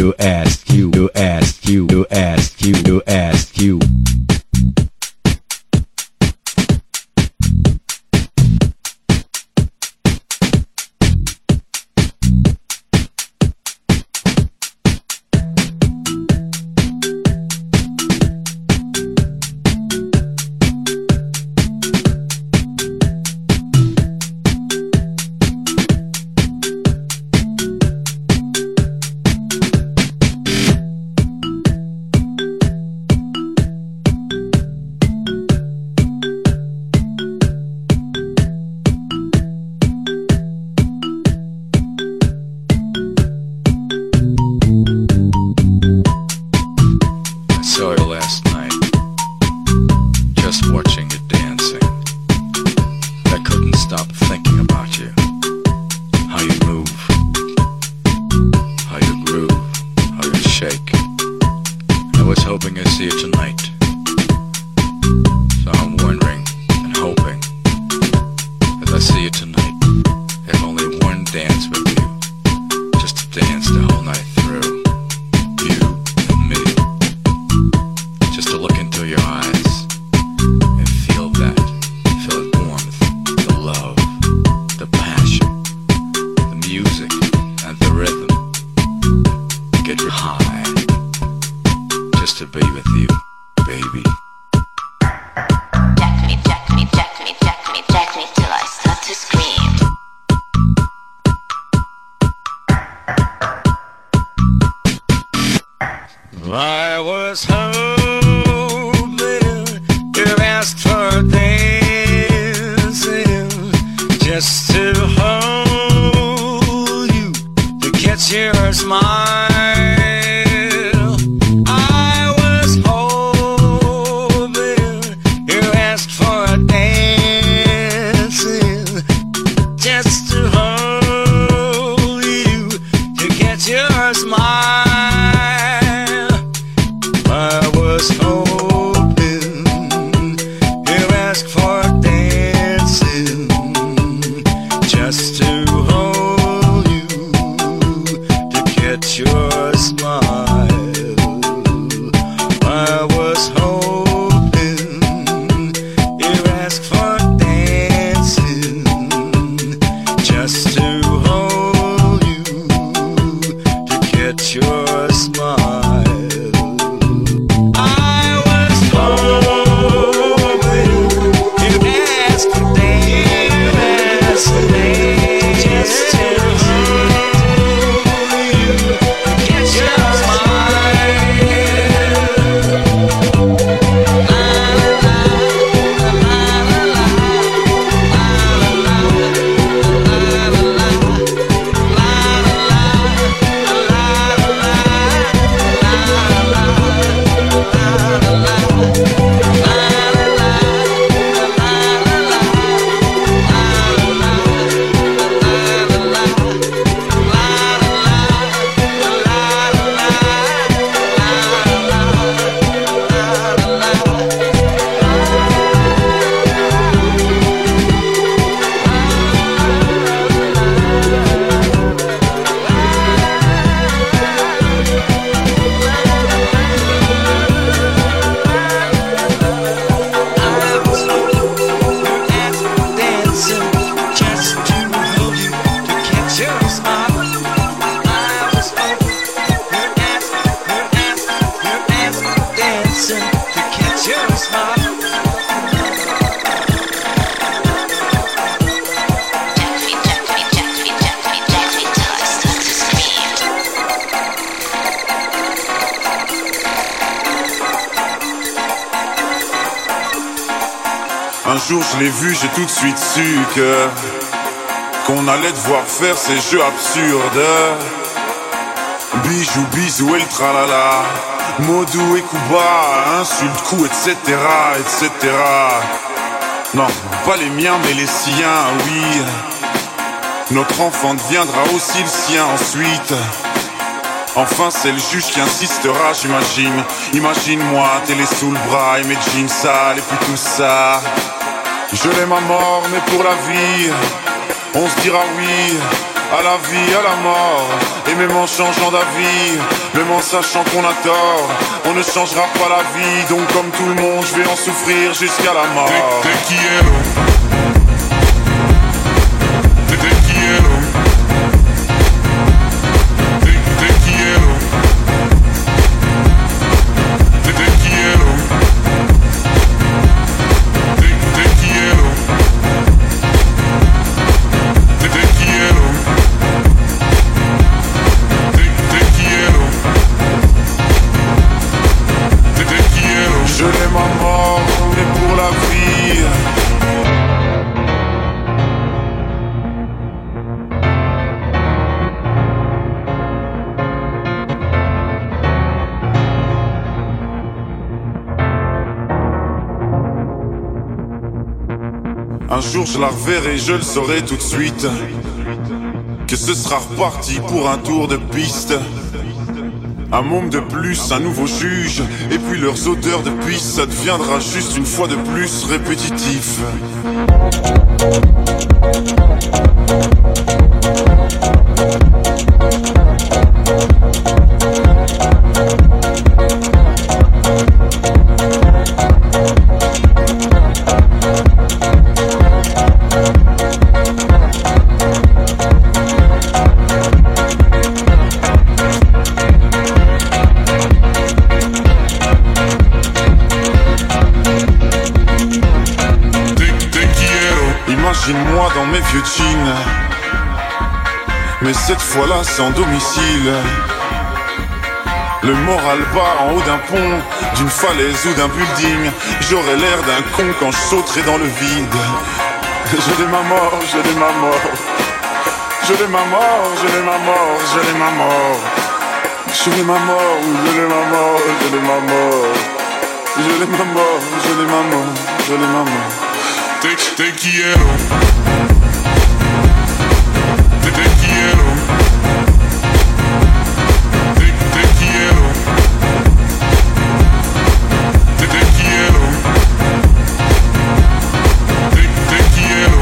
Un jour je l'ai vu, j'ai tout de suite su qu'on allait devoir faire ces jeux absurdes. Bijou, bisou et le tralala, Modou et Kuba, insulte, coup, etc., etc. Non, pas les miens mais les siens, oui. Notre enfant deviendra aussi le sien ensuite. Enfin c'est le juge qui insistera, j'imagine. Imagine-moi, télé sous le bras et mes jeans sales et puis tout ça. Je l'aime à mort mais pour la vie, on se dira oui à la vie, à la mort. Et même en changeant d'avis, même en sachant qu'on a tort, on ne changera pas la vie. Donc comme tout le monde, je vais en souffrir jusqu'à la mort. Te quiero. Te quiero. Te quiero. Te quiero. Te quiero. Te quiero. Je l'aime à mort, mais pour la vie. Un jour je la reverrai, je le saurai tout de suite, que ce sera reparti pour un tour de piste. Un môme de plus, un nouveau juge, et puis leurs odeurs de pisse, ça deviendra juste une fois de plus répétitif. Imagine-moi dans mes vieux jeans, mais cette fois-là sans domicile. Le moral bas en haut d'un pont, d'une falaise ou d'un building. J'aurais l'air d'un con quand je sauterai dans le vide. Je l'aime à mort, je l'aime à mort. Je l'aime à mort, je l'aime à mort, je l'aime à mort. Je l'aime à mort, je l'aime à mort, je l'aime à mort. Je l'aime à mort, je l'aime à mort, je l'aime à mort. Te quiero. Te quiero. Te quiero. Te quiero. Te quiero.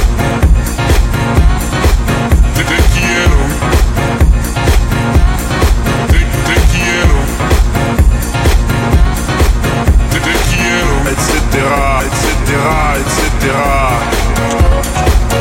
Te quiero. Te quiero. Te quiero. Etcétera, etcétera, etcétera.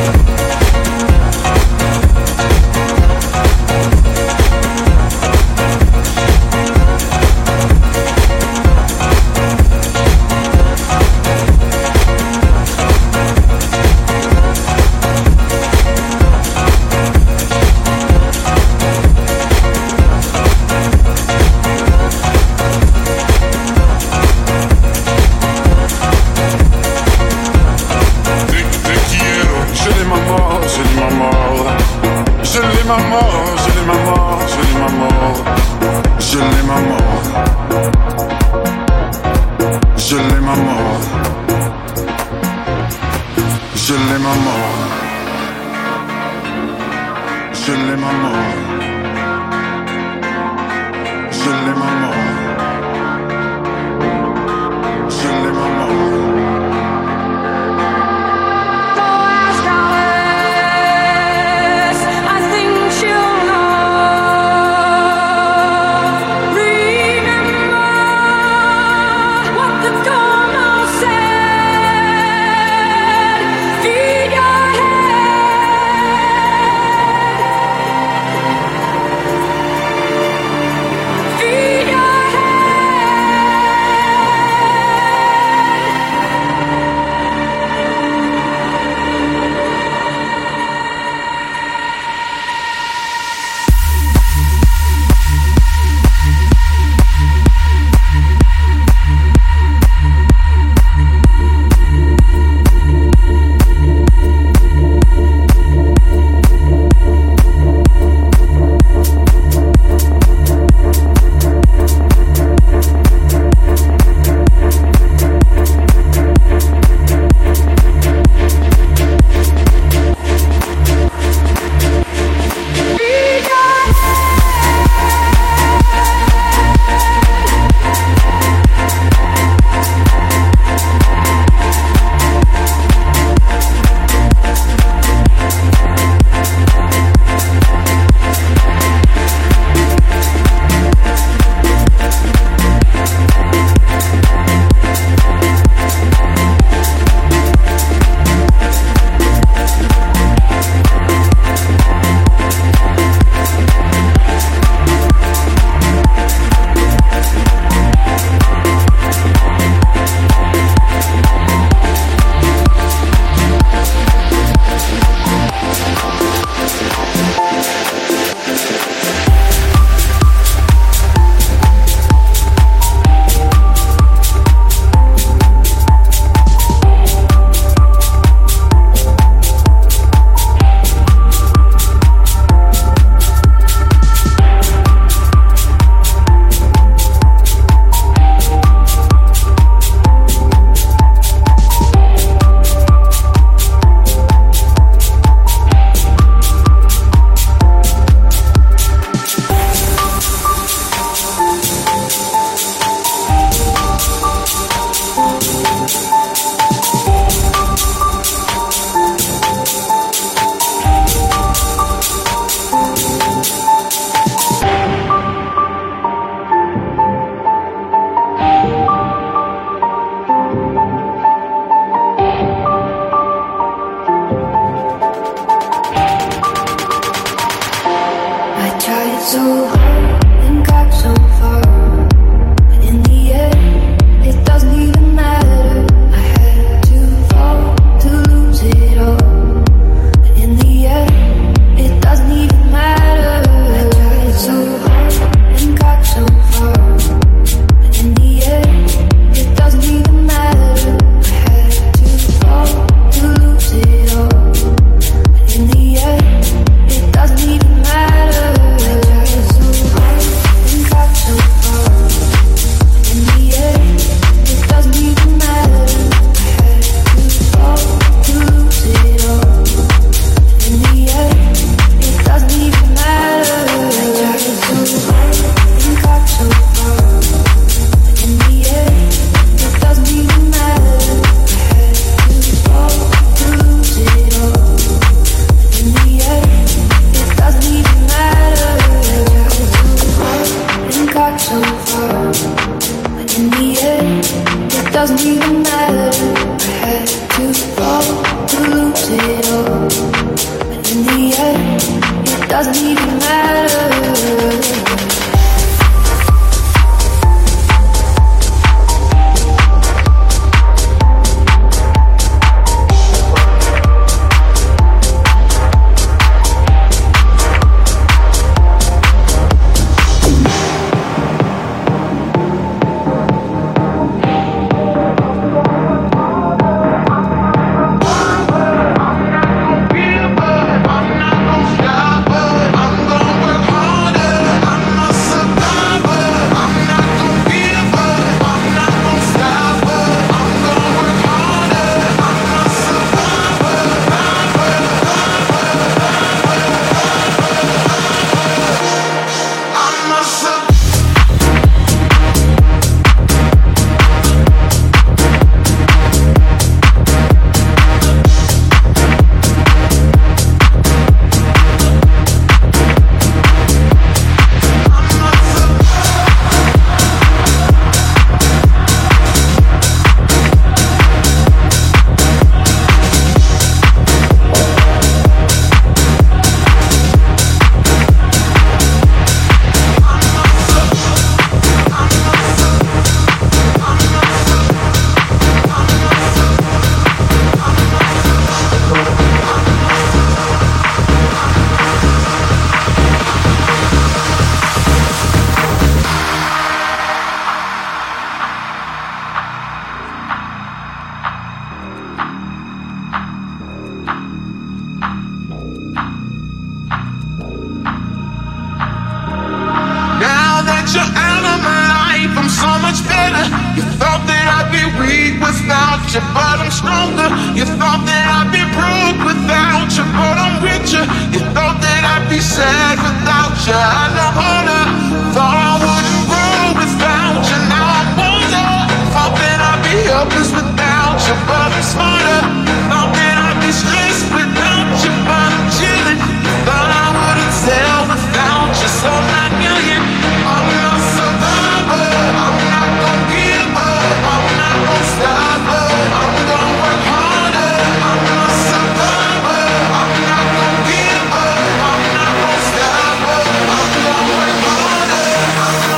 you out of my life, I'm so much better. You thought that I'd be weak without you, but I'm stronger. You thought that I'd be broke without you, but I'm richer. You thought that I'd be sad without you, I know harder. Thought I wouldn't grow without you, now I'm older. Thought that I'd be helpless without you, but I'm smarter. Thought that I'd be stressed without you, but I'm chilling. Thought I wouldn't sell without you, so not million. I'm a survivor, I'm not gonna give up, I'm not gonna stop up, I'm gonna work harder. I'm a survivor, I'm not gonna give up, I'm not gonna stop up, I'm gonna work harder. I'm a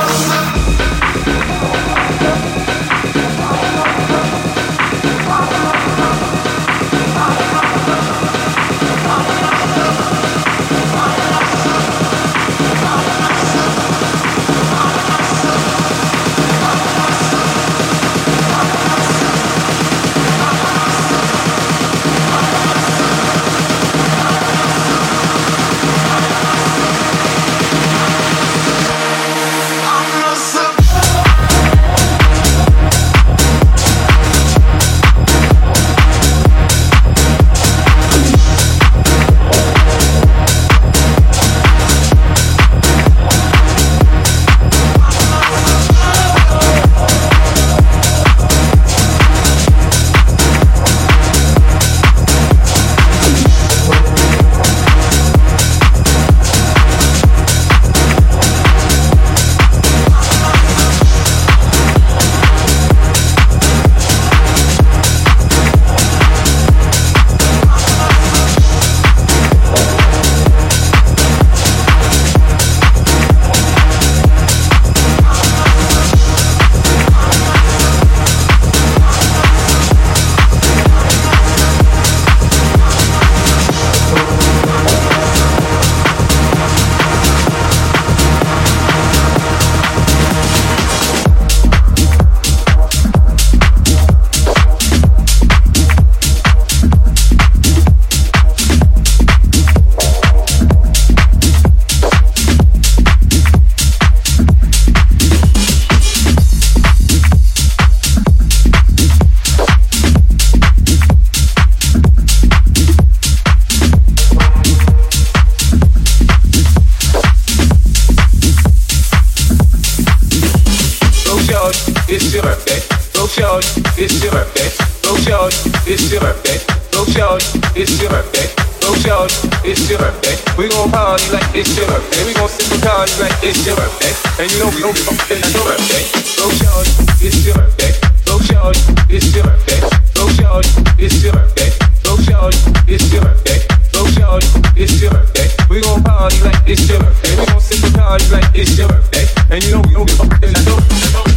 it's your birthday. Go shorty, it's your birthday. Go shorty, it's your birthday. Go shorty, it's your birthday. Go shorty, it's your birthday. We gon' party like it's your birthday. We gon' sip and party like it's your birthday. And you know we gon' be fucking like your birthday. Go shorty, it's your birthday. Go shorty, it's your birthday. Go shorty, it's your birthday. Go shorty, it's your birthday. Go shorty, it's your birthday. We gon' party like it's your birthday. We gon' sip and party like it's your birthday. And you know we gon' be fucking like your birthday.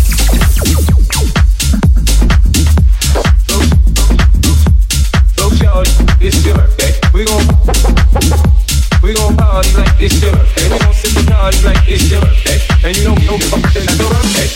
It's your birthday. We gon' party like it's your birthday. We gon' sip and party like it's your birthday. And you know we gon' fucking like your birthday.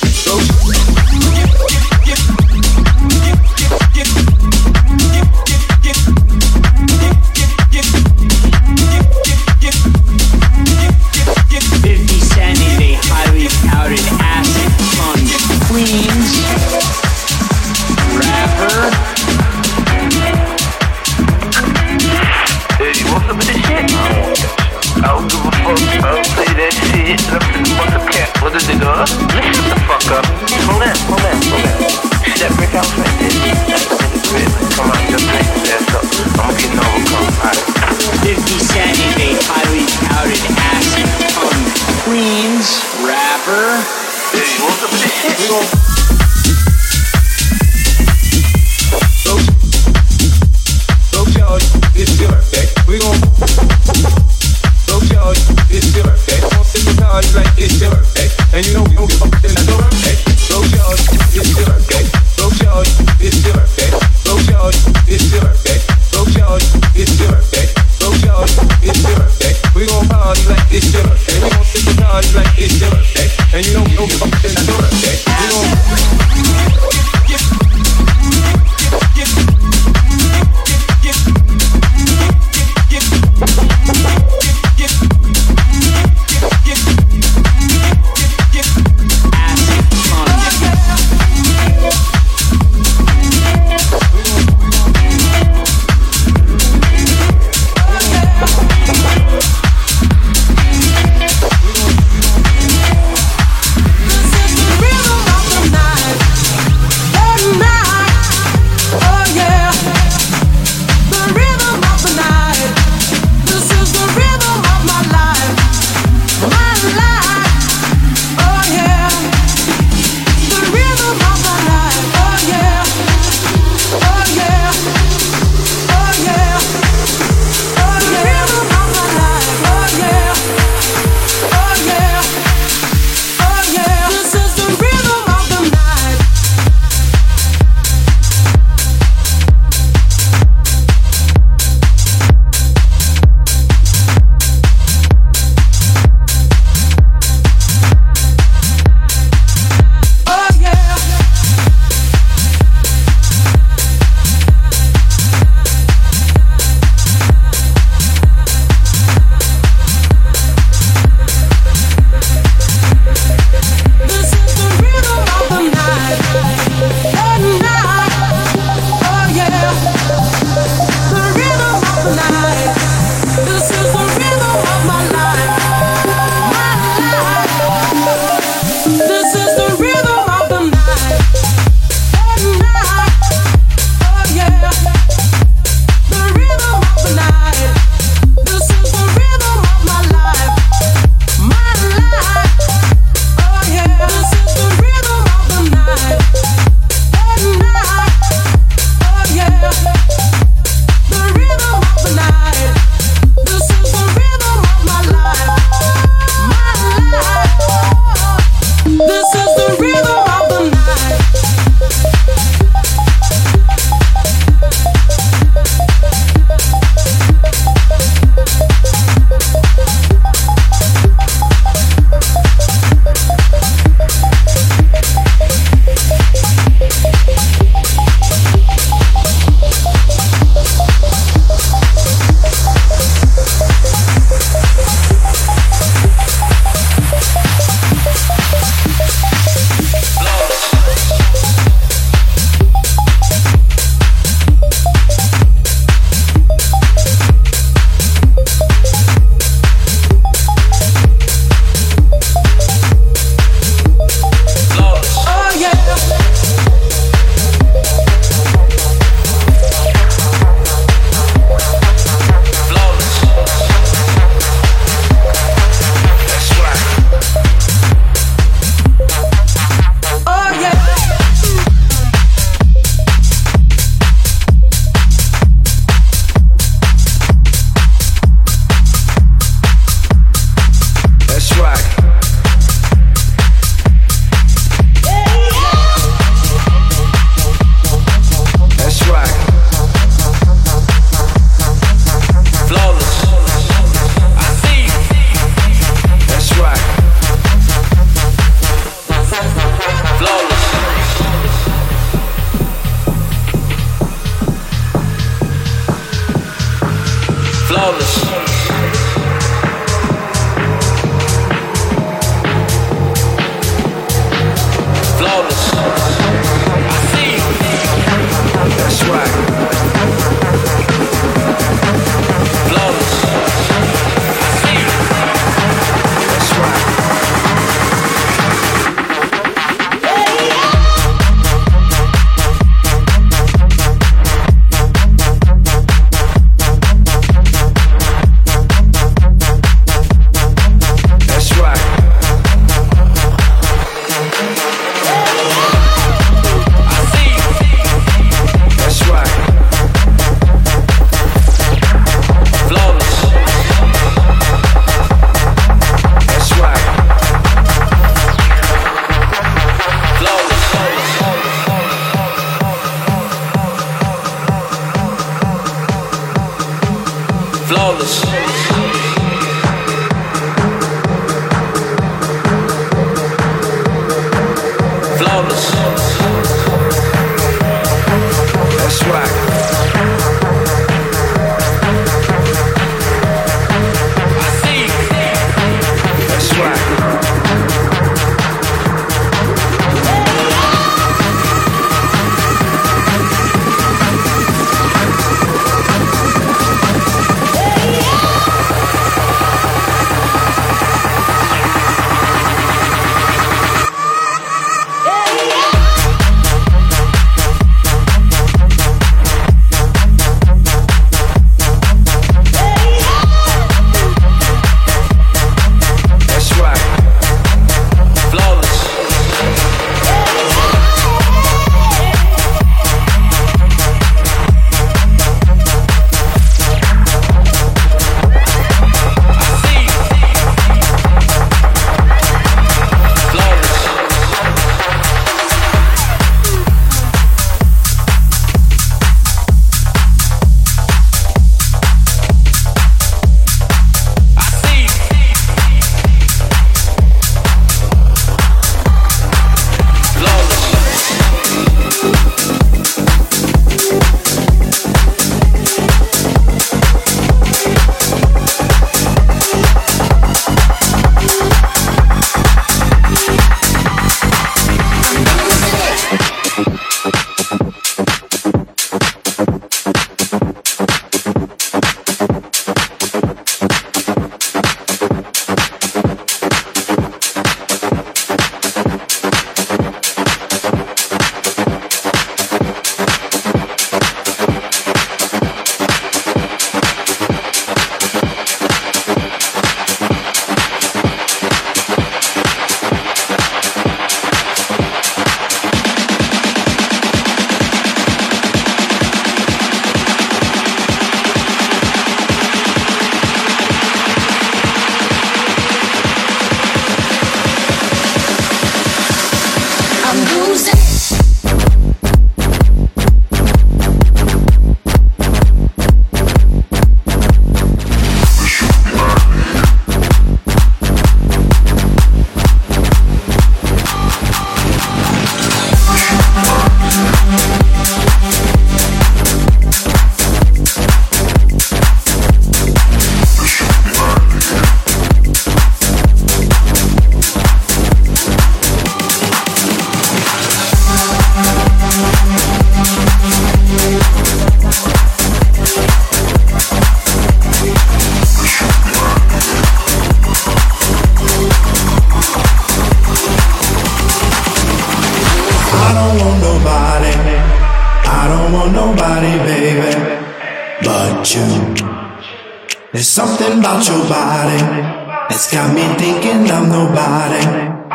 There's something about your body that's got me thinking I'm nobody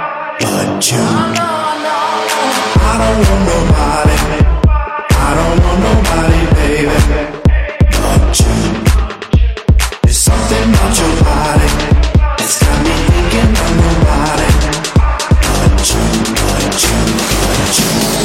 but you. I don't want nobody, I don't want nobody, baby, but you. There's something about your body that's got me thinking I'm nobody but you, but you, but you.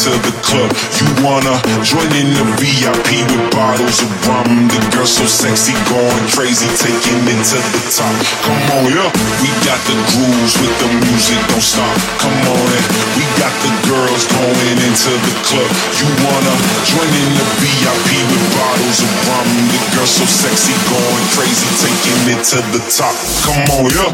into the club. You wanna join in the VIP with bottles of rum. The girl so sexy, going crazy, taking it to the top. Come on, yeah. We got the grooves with the music, don't stop. Come on, and we got the girls going into the club. You wanna join in the VIP with bottles of rum. The girl so sexy, going crazy, taking it to the top. Come on, yeah.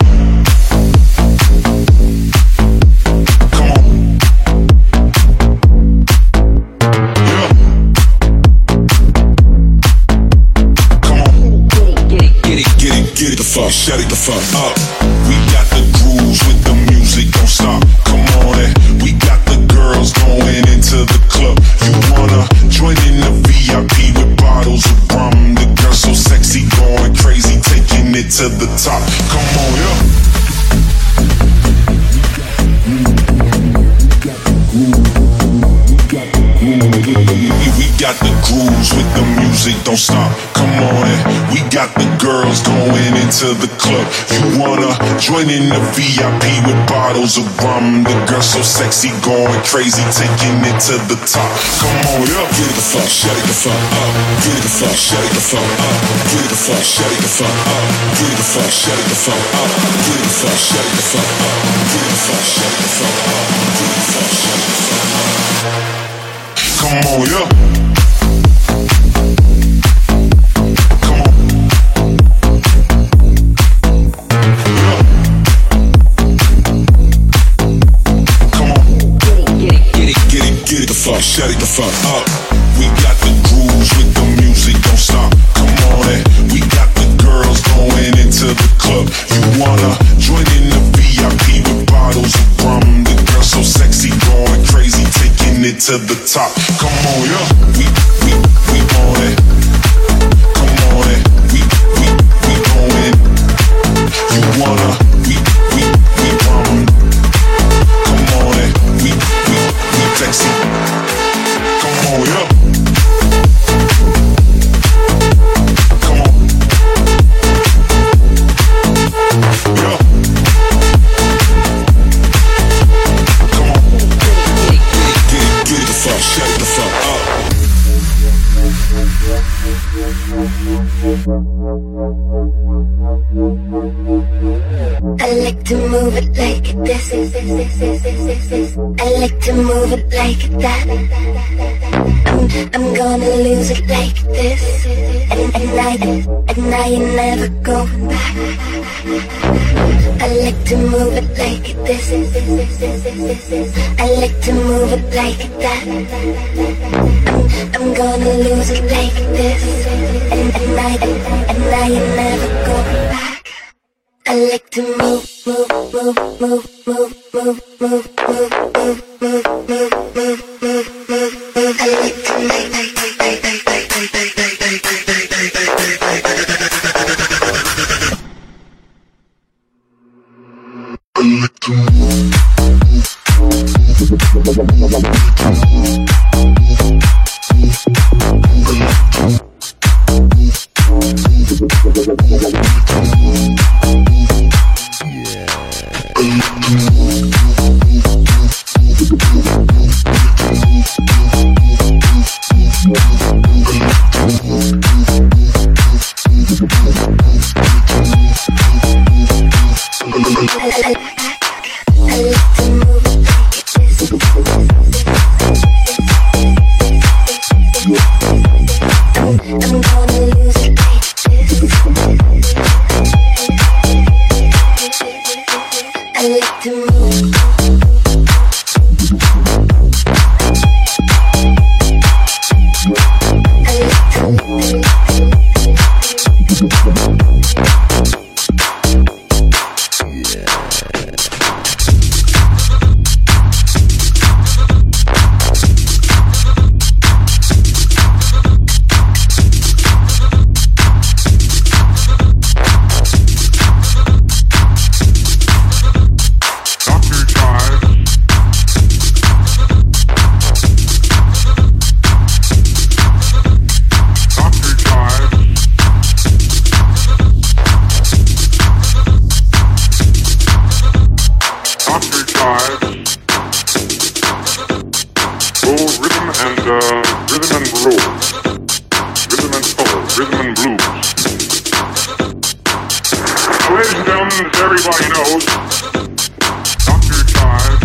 Get it the fuck, shut it the fuck up. We got the grooves with the music, don't stop. Come on, and we got the girls going into the club. You wanna join in the VIP with bottles of rum. The girl so sexy, going crazy, taking it to the top. Come on, yeah. We got the grooves with the music, don't stop. Come on, and we got the girls going into the club. You wanna join in the VIP with bottles of rum. The girl so sexy, going crazy, taking it to the top. Come on, yeah. Get it the fuck, shut it the fuck up. Get it the fuck, shut it the fuck up. Get it the fuck, shut it the fuck up. Get it the fuck, shut it the fuck up. Get it the fuck, shut it the fuck up. Get it the fuck, shut it the fuck up. Get it the fuck, shut it the fuck up. Come on, yeah. Come on. Yeah. Come on. Get it the fuck, shut it the fuck up. We got the grooves with the music, don't stop. Come on, and we got the girls going into the club. You wanna join in the VIP with bottles of rum. The girl so sexy, going crazy, taking it to the top. Come on, yeah. We on it. Come on, and we going. You wanna we rum. Come on, and we sexy. Come on, yeah. Come on. Yeah. Come on. Get it the fuck, shut it the fuck up. I like to move it like this. I like to move it like that. I'm gonna lose it like this. And I ain't never going back. I like to move it like this. I like to move it like that. I'm gonna lose it like this. And I ain't never going back. I like to move. I like to I'm gonna lose it like this. down, as everybody knows, Dr. Chives.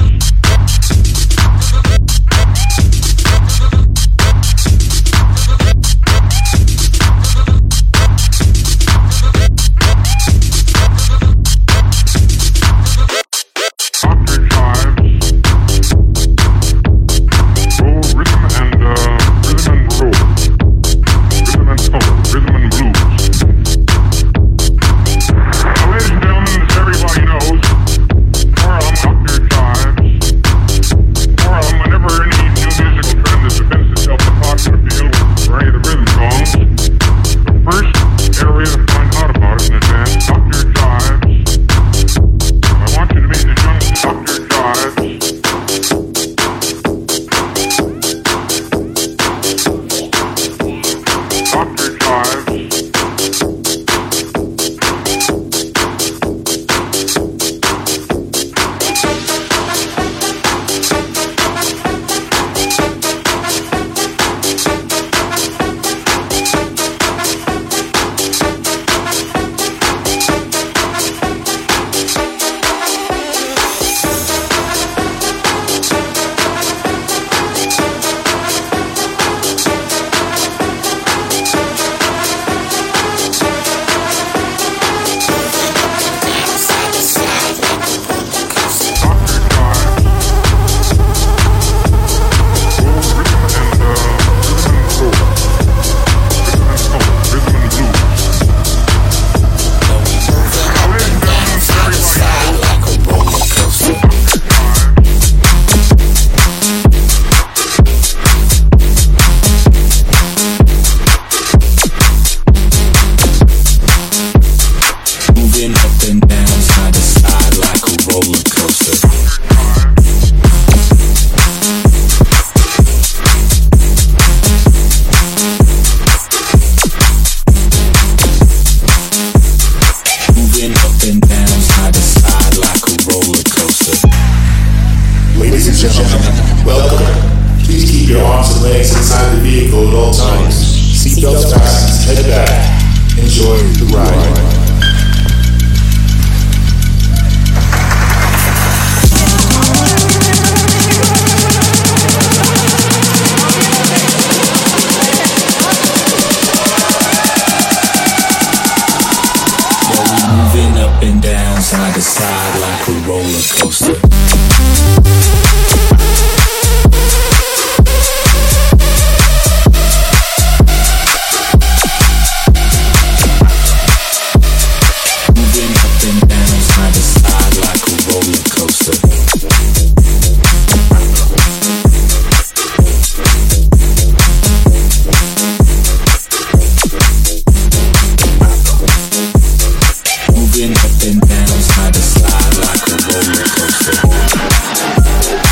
Moving up and down, side to side like a roller coaster.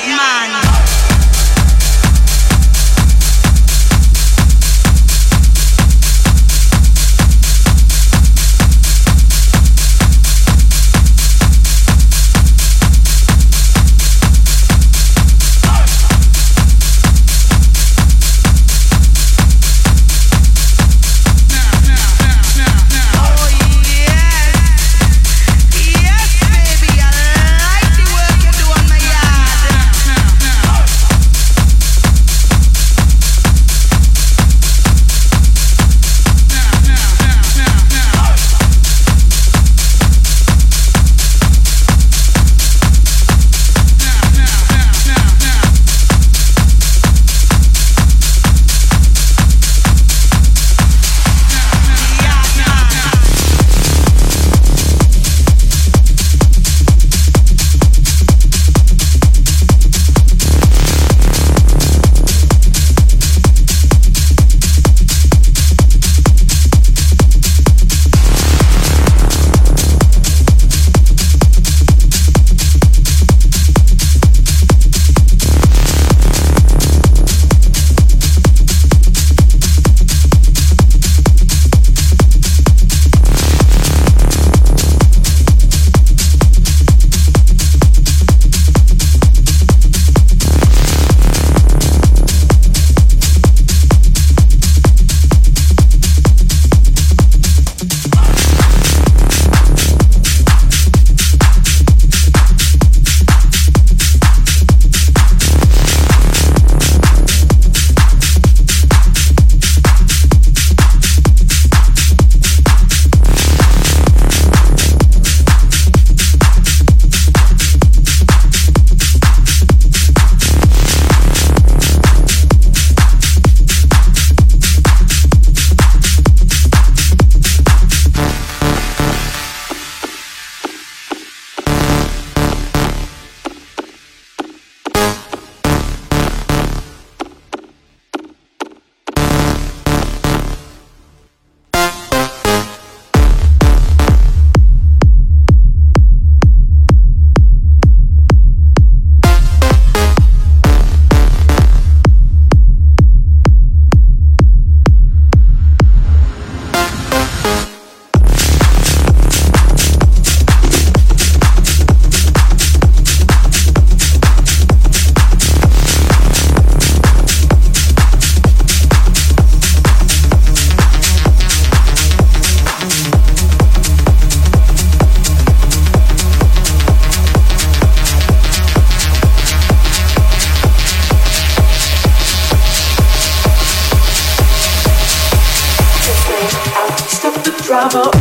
drama.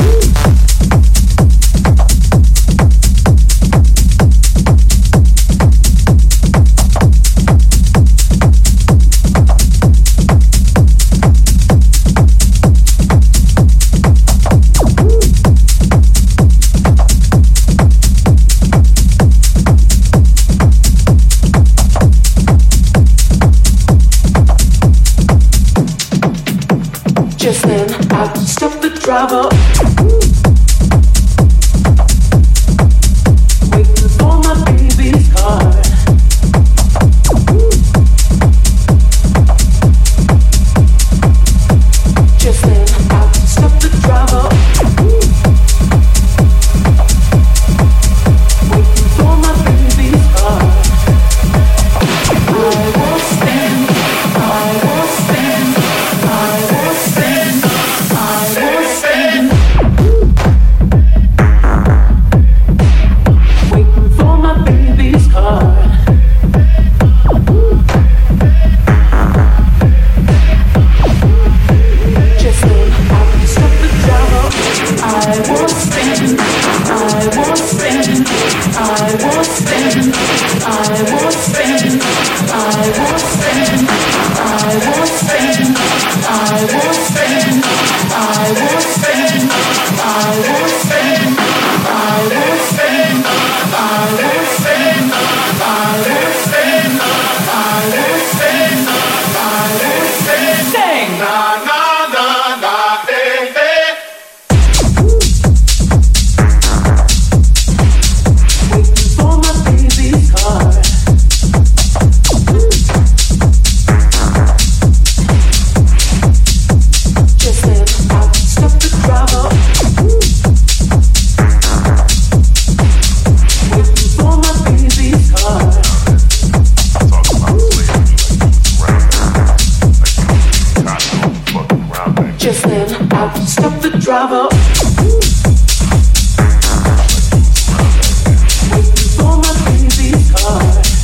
Just then, I stopped the drama. Waiting for my baby's car. Just then, I stopped the drama. Waiting for my baby's car. I will stand. I will stand. I will stand. I will stand. Stop the driver. Waiting for my baby's car.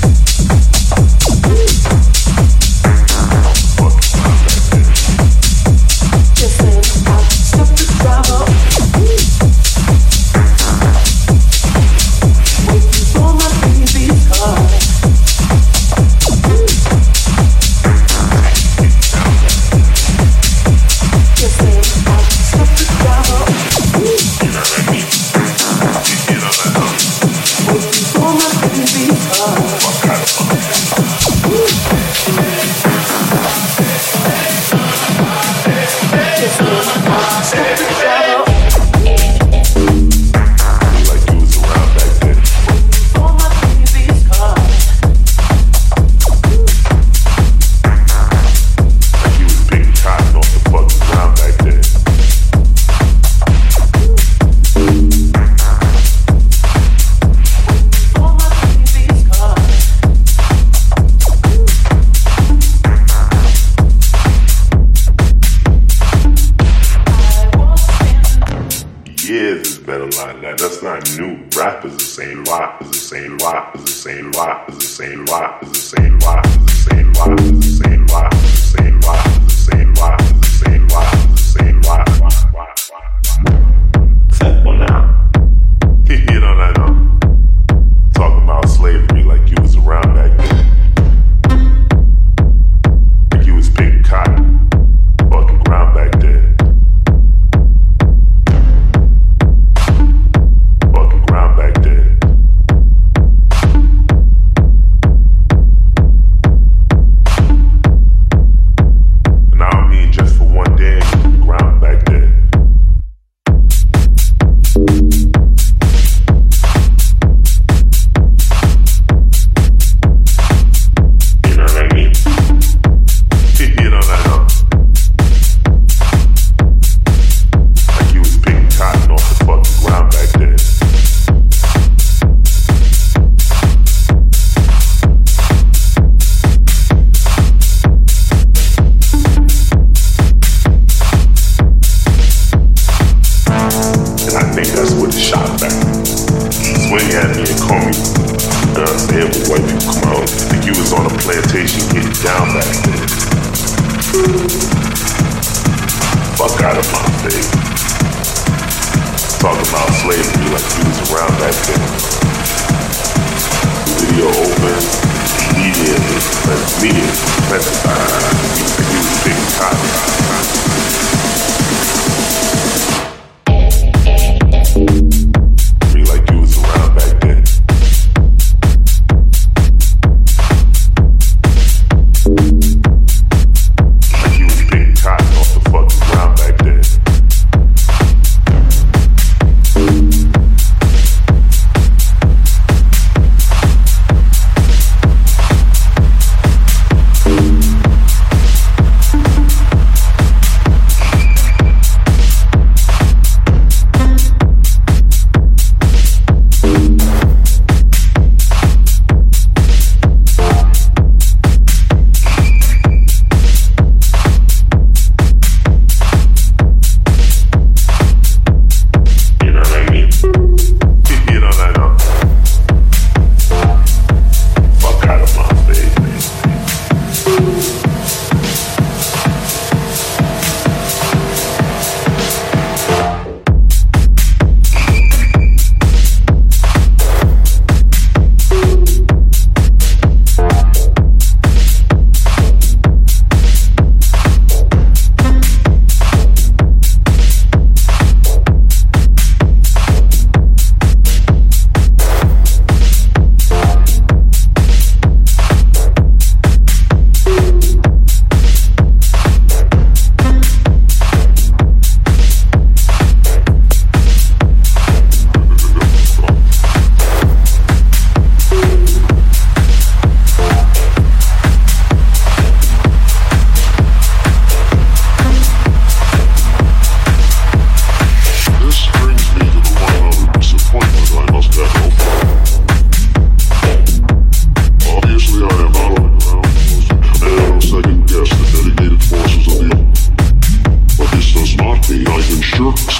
Just then I'll stop the driver. Waiting for my baby's car. Just then I'll stop the driver. Waiting for my baby's car. Just then I'll stop the driver. Like you was around back then. For my baby's car. Like you was picking cotton off the fucking ground back then. For my baby's car. Years is better line that. That's not new. Rap is the same lot, is the same lot, is the same lot, is the same lot, is the same lot, is the same lot, is the same lot, is the same lot, is the same lot, is the same lot, is the same lot. Set one out. You know that talking about slavery like you was around back then. Like you was picking cotton, fucking ground back then. Fucking ground back then.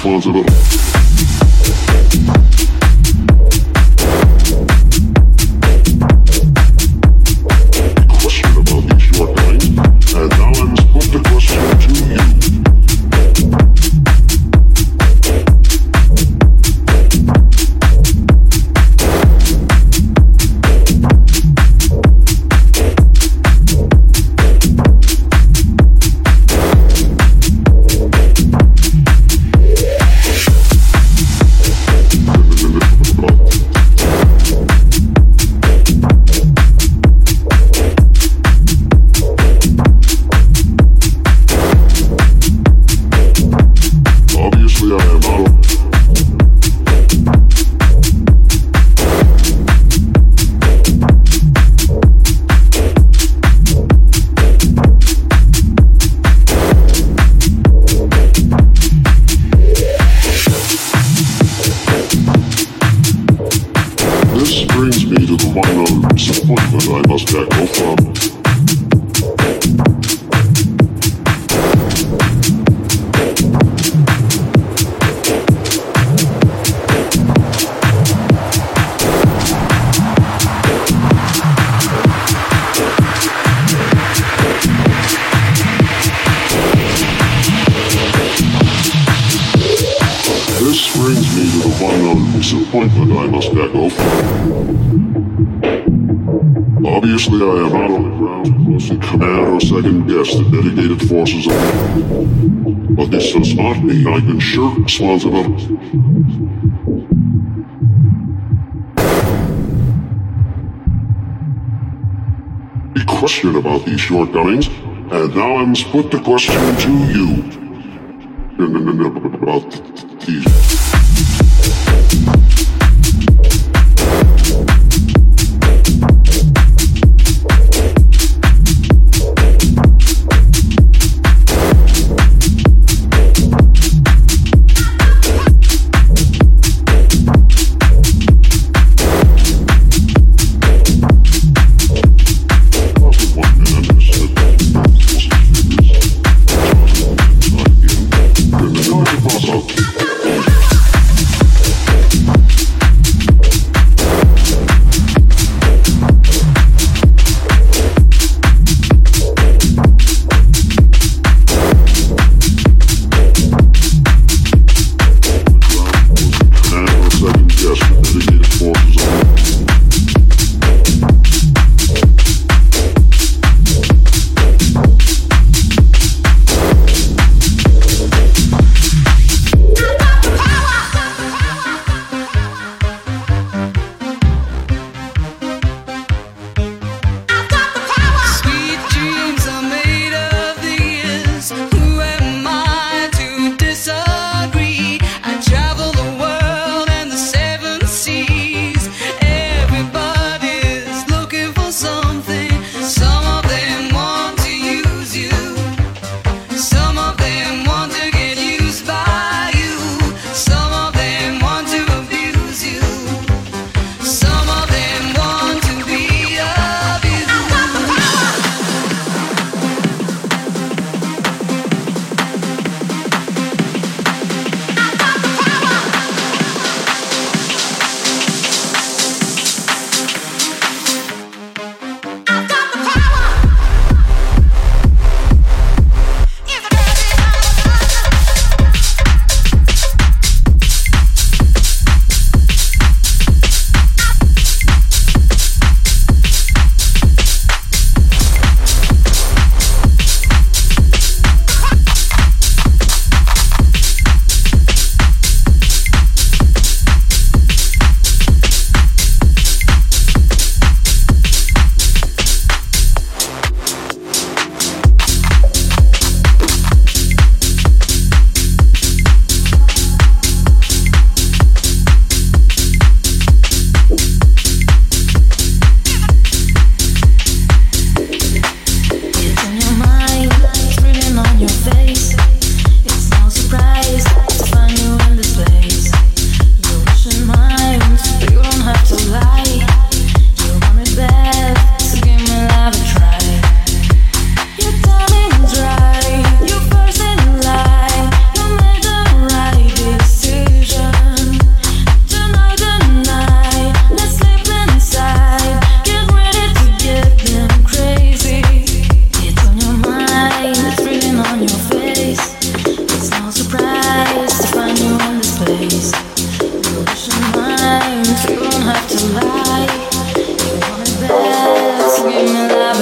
responsibility. Question about these shortcomings, and now I must put the question to you. Obviously, I am not on the ground to command or second guess the dedicated forces of the. But this does not mean I can shirk responsibility. A question about these shortcomings, and now I must put the question to you. About these. About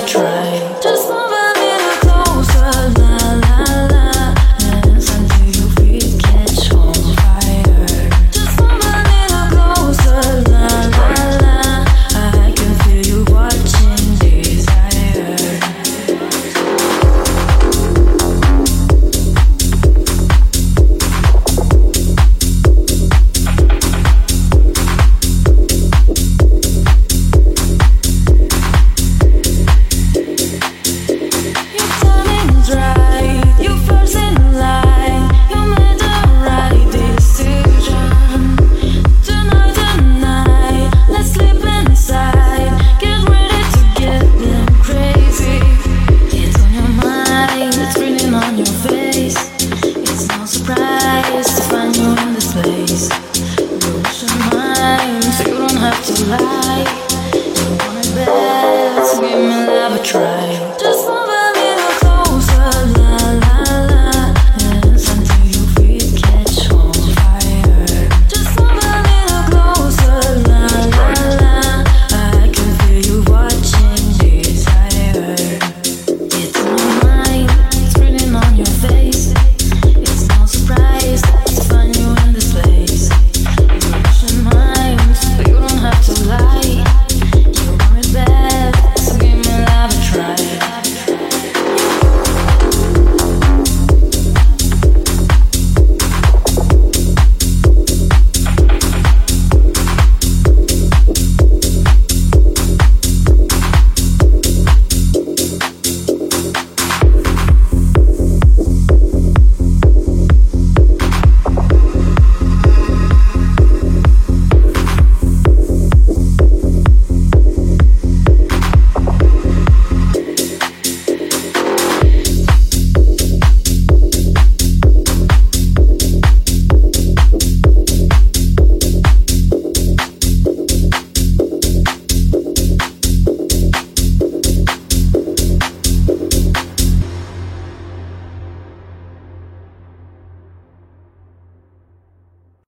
Try.